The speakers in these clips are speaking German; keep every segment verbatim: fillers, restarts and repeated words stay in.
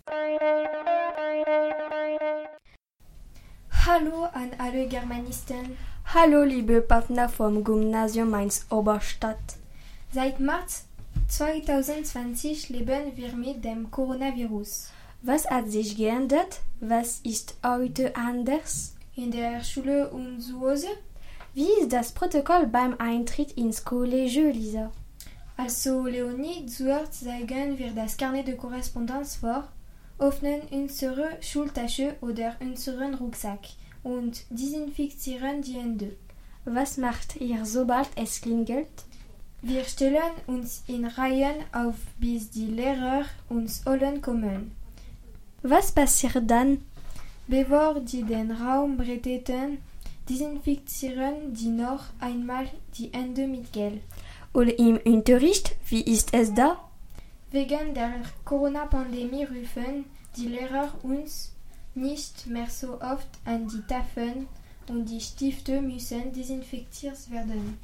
Hallo an alle Germanisten. Hallo liebe Partner vom Gymnasium Mainz-Oberstadt. Seit März zwanzig zwanzig leben wir mit dem Coronavirus. Was hat sich geändert? Was ist heute anders? In der Schule und zu Hause? Wie ist das Protokoll beim Eintritt ins College, Lisa? Also Leonie, zuerst zeigen wir das Carnet de Korrespondenz vor, öffnen unsere Schultasche oder unseren Rucksack und desinfizieren die Hände. Was macht ihr, sobald es klingelt? Wir stellen uns in Reihen auf, bis die Lehrer uns holen kommen. Was passiert dann? Bevor die den Raum betreten, desinfizieren die noch einmal die Hände mit Gel. Und im Unterricht, wie ist es da? Wegen der Corona-Pandemie rufen die Lehrer uns nicht mehr so oft an die Tafeln und die Stifte müssen desinfiziert werden.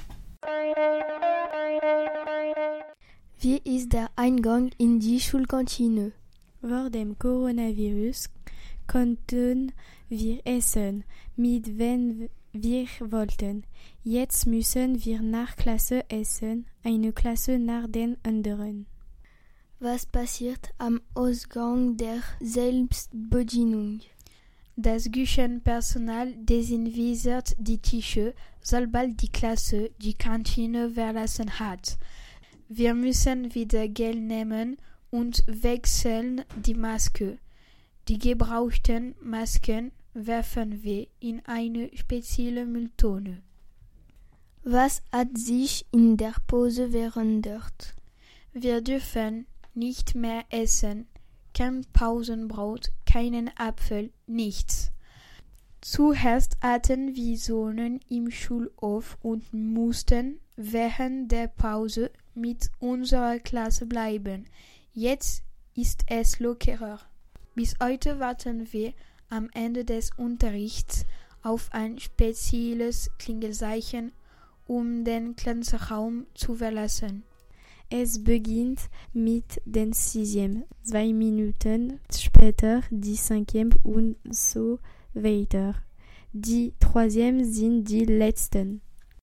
Wie ist der Eingang in die Schulkantine? Vor dem Coronavirus konnten wir essen, mit wem wir wollten. Jetzt müssen wir nach Klasse essen, eine Klasse nach den anderen. Was passiert am Ausgang der Selbstbedienung? Das Küchenpersonal desinfiziert die Tische, sobald die Klasse die Kantine verlassen hat. Wir müssen wieder Gel nehmen und wechseln die Maske. Die gebrauchten Masken werfen wir in eine spezielle Mülltonne. Was hat sich in der Pause verändert? Wir dürfen nicht mehr essen, kein Pausenbrot, keinen Apfel, nichts. Zuerst hatten wir Zonen im Schulhof und mussten während der Pause mit unserer Klasse bleiben. Jetzt ist es lockerer. Bis heute warten wir am Ende des Unterrichts auf ein spezielles Klingelzeichen, um den Klassenraum zu verlassen. Es beginnt mit den Sixième, zwei Minuten später die Cinquième und so weiter. Die Troisième sind die letzten.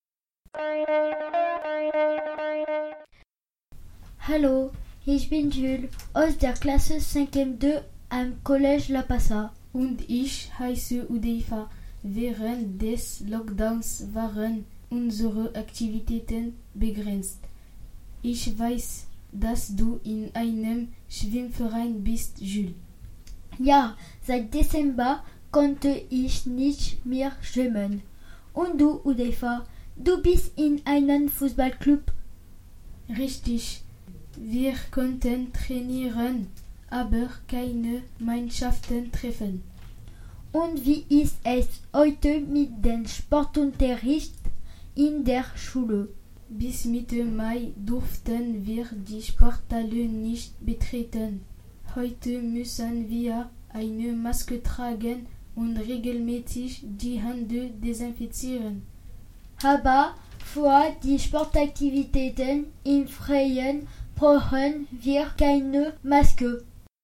Hallo, ich bin Jules aus der Klasse Cinquième deux am Collège La Passa. Und ich heiße Udeifa. Während des Lockdowns waren unsere Aktivitäten begrenzt. Ich weiß, dass du in einem Schwimmverein bist, Jules. Ja, seit Dezember konnte ich nicht mehr schwimmen. Und du, Udeifa, du bist in einem Fußballclub? Richtig, wir konnten trainieren, aber keine Mannschaften treffen. Und wie ist es heute mit dem Sportunterricht in der Schule? Bis Mitte Mai durften wir die Sporthalle nicht betreten. Heute müssen wir eine Maske tragen und regelmäßig die Hände desinfizieren. Aber für die Sportaktivitäten im Freien brauchen wir keine Maske.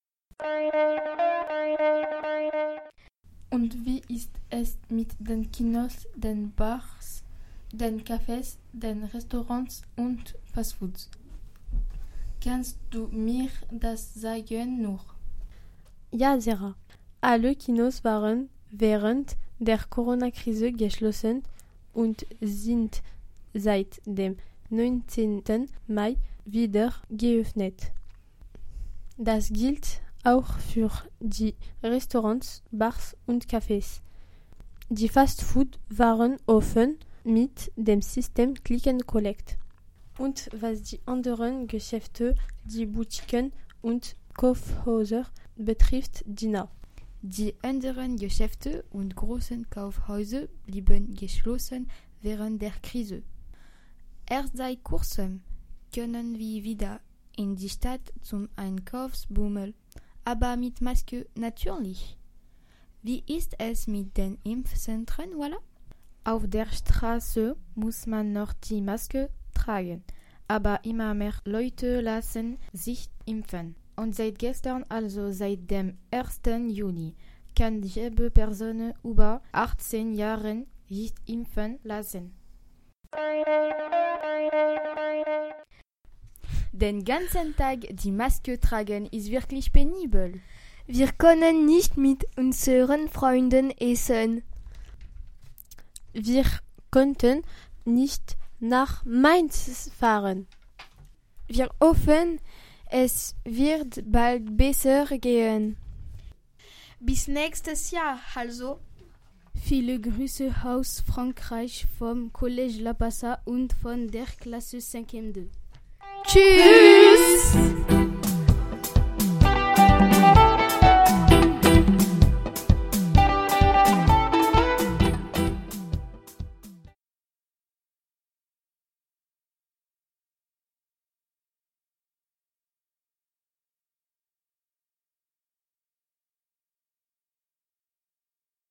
Und wie ist es mit den Kinos, den Bars, den Cafés, den Restaurants und Fastfoods? Kannst du mir das sagen nur? Ja, Sarah. Alle Kinos waren während der Corona-Krise geschlossen und sind seit dem neunzehnten Mai wieder geöffnet. Das gilt auch für die Restaurants, Bars und Cafés. Die Fastfood waren offen mit dem System Click and Collect. Und was die anderen Geschäfte, die Boutiquen und Kaufhäuser betrifft, Dina. Die anderen Geschäfte und großen Kaufhäuser blieben geschlossen während der Krise. Erst seit kurzem können wir wieder in die Stadt zum Einkaufsbummel, aber mit Maske natürlich. Wie ist es mit den Impfzentren, voilà? Auf der Straße muss man noch die Maske tragen, aber immer mehr Leute lassen sich impfen. Und seit gestern, also seit dem ersten Juni, kann jede Person über achtzehn Jahren sich impfen lassen. Den ganzen Tag die Maske tragen ist wirklich penibel. Wir können nicht mit unseren Freunden essen. Wir konnten nicht nach Mainz fahren. Wir hoffen, es wird bald besser gehen. Bis nächstes Jahr, also. Viele Grüße aus Frankreich vom Collège La Passa und von der Klasse cinquième deux. Tschüss!